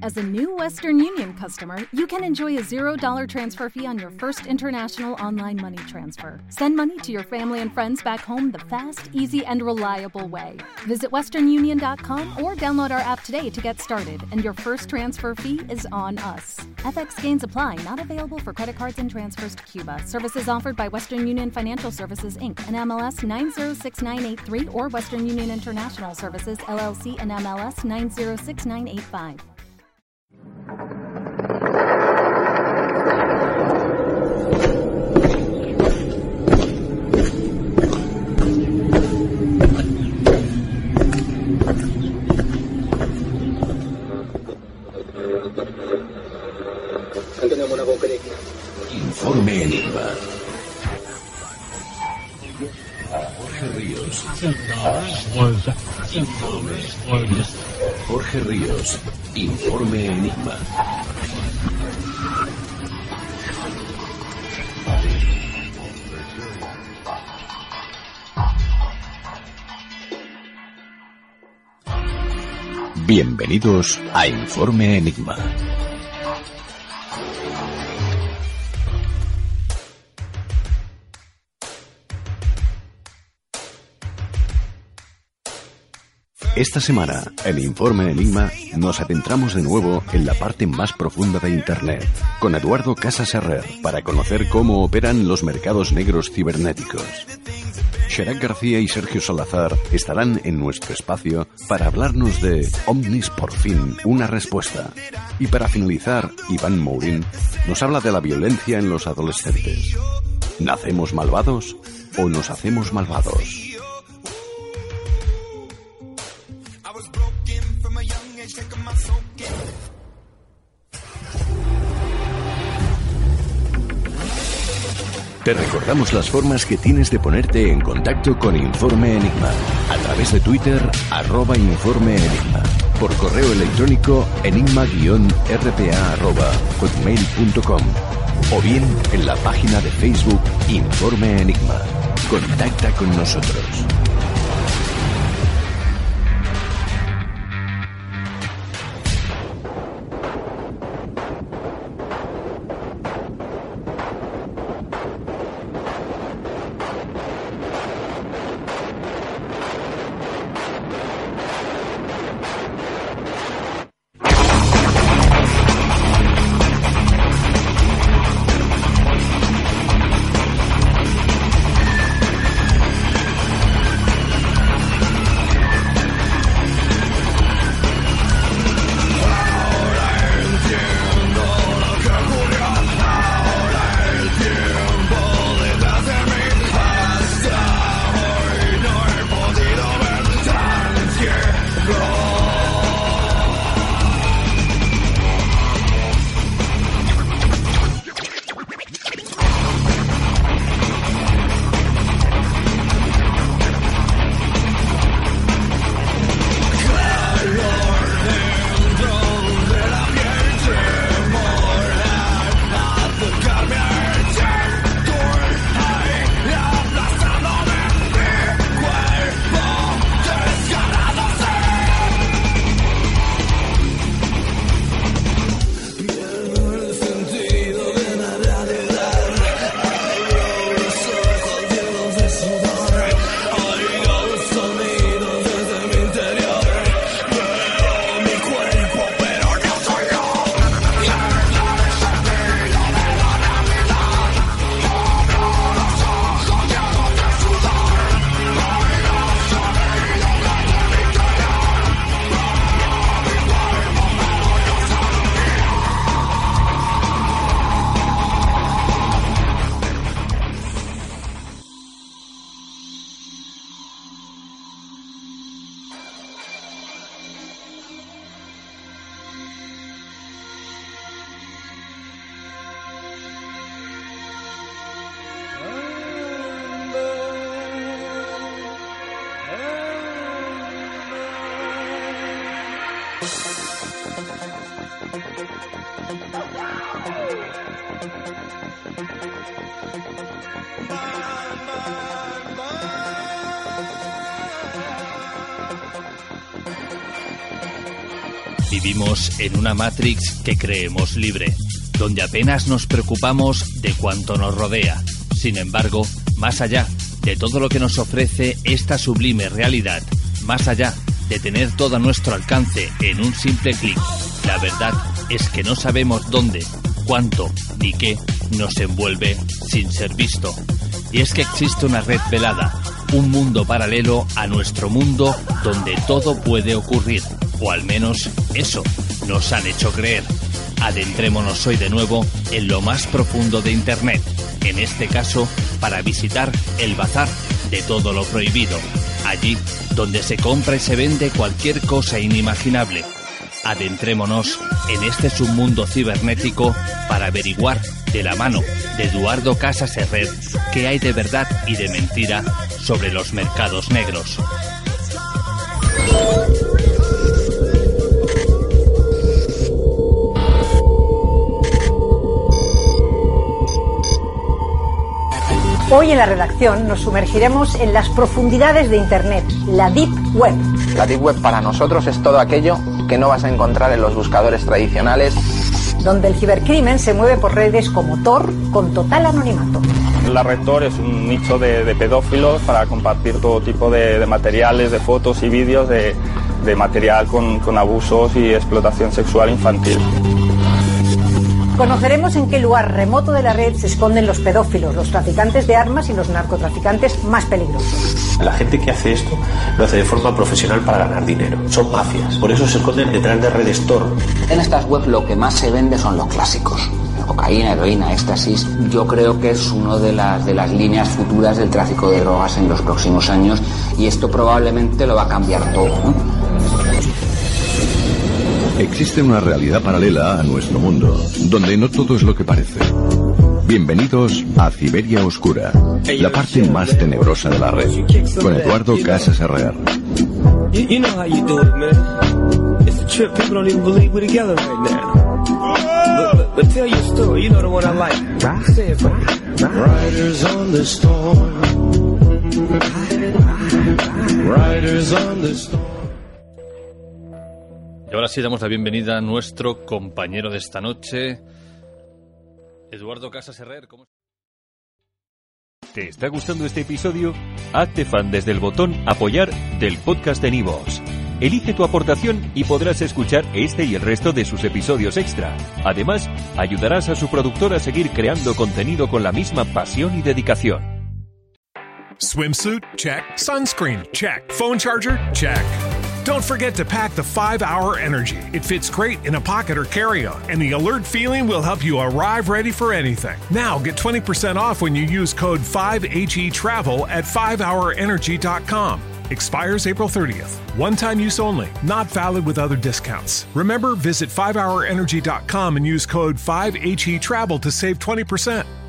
As a new Western Union customer, you can enjoy a $0 transfer fee on your first international online money transfer. Send money to your family and friends back home the fast, easy, and reliable way. Visit westernunion.com or download our app today to get started, and your first transfer fee is on us. FX gains apply, not available for credit cards and transfers to Cuba. Services offered by Western Union Financial Services, Inc., and MLS 906983, or Western Union International Services, LLC, and MLS 906985. Informe Enigma. Jorge Ríos. Informe Enigma. Bienvenidos a Informe Enigma. Esta semana, en Informe Enigma, nos adentramos de nuevo en la parte más profunda de Internet, con Eduardo Casas Herrer, para conocer cómo operan los mercados negros cibernéticos. Sherak García y Sergio Salazar estarán en nuestro espacio para hablarnos de Omnis por fin, una respuesta. Y para finalizar, Iván Mourín nos habla de la violencia en los adolescentes. ¿Nacemos malvados o nos hacemos malvados? Te recordamos las formas que tienes de ponerte en contacto con Informe Enigma. A través de Twitter, @Informe Enigma. Por correo electrónico, enigma-rpa@hotmail.com. O bien en la página de Facebook Informe Enigma. Contacta con nosotros. Vivimos en una Matrix que creemos libre, donde apenas nos preocupamos de cuanto nos rodea. Sin embargo, más allá de todo lo que nos ofrece esta sublime realidad, más allá de tener todo a nuestro alcance en un simple clic, la verdad es que no sabemos dónde, cuánto ni qué nos envuelve sin ser visto. Y es que existe una red velada, un mundo paralelo a nuestro mundo donde todo puede ocurrir, o al menos eso nos han hecho creer. Adentrémonos hoy de nuevo en lo más profundo de Internet, en este caso para visitar el bazar de todo lo prohibido, allí donde se compra y se vende cualquier cosa inimaginable. Adentrémonos en este submundo cibernético para averiguar de la mano de Eduardo Casas Herrer qué hay de verdad y de mentira sobre los mercados negros. Hoy en la redacción nos sumergiremos en las profundidades de Internet, la Deep Web. La Deep Web para nosotros es todo aquello que no vas a encontrar en los buscadores tradicionales. Donde el cibercrimen se mueve por redes como Tor con total anonimato. La red Tor es un nicho de pedófilos para compartir todo tipo de materiales, de fotos y vídeos de material con abusos y explotación sexual infantil. Conoceremos en qué lugar remoto de la red se esconden los pedófilos, los traficantes de armas y los narcotraficantes más peligrosos. La gente que hace esto lo hace de forma profesional para ganar dinero. Son mafias, por eso se esconden detrás de redes Tor. En estas webs lo que más se vende son los clásicos. Cocaína, heroína, éxtasis. Yo creo que es una de las líneas futuras del tráfico de drogas en los próximos años y esto probablemente lo va a cambiar todo, ¿no? Existe una realidad paralela a nuestro mundo, donde no todo es lo que parece. Bienvenidos a Siberia Oscura, la parte más tenebrosa de la red, con Eduardo Casas Herrer. Y ahora sí damos la bienvenida a nuestro compañero de esta noche, Eduardo Casas Herrer. ¿Cómo? ¿Te está gustando este episodio? Hazte fan desde el botón Apoyar del podcast de Nivos. Elige tu aportación y podrás escuchar este y el resto de sus episodios extra. Además, ayudarás a su productor a seguir creando contenido con la misma pasión y dedicación. Swimsuit? Check. Sunscreen? Check. Phone charger? Check. Don't forget to pack the 5-Hour Energy. It fits great in a pocket or carry-on, and the alert feeling will help you arrive ready for anything. Now get 20% off when you use code 5HETRAVEL at 5hourenergy.com. Expires April 30th. One-time use only. Not valid with other discounts. Remember, visit 5hourenergy.com and use code 5HETRAVEL to save 20%.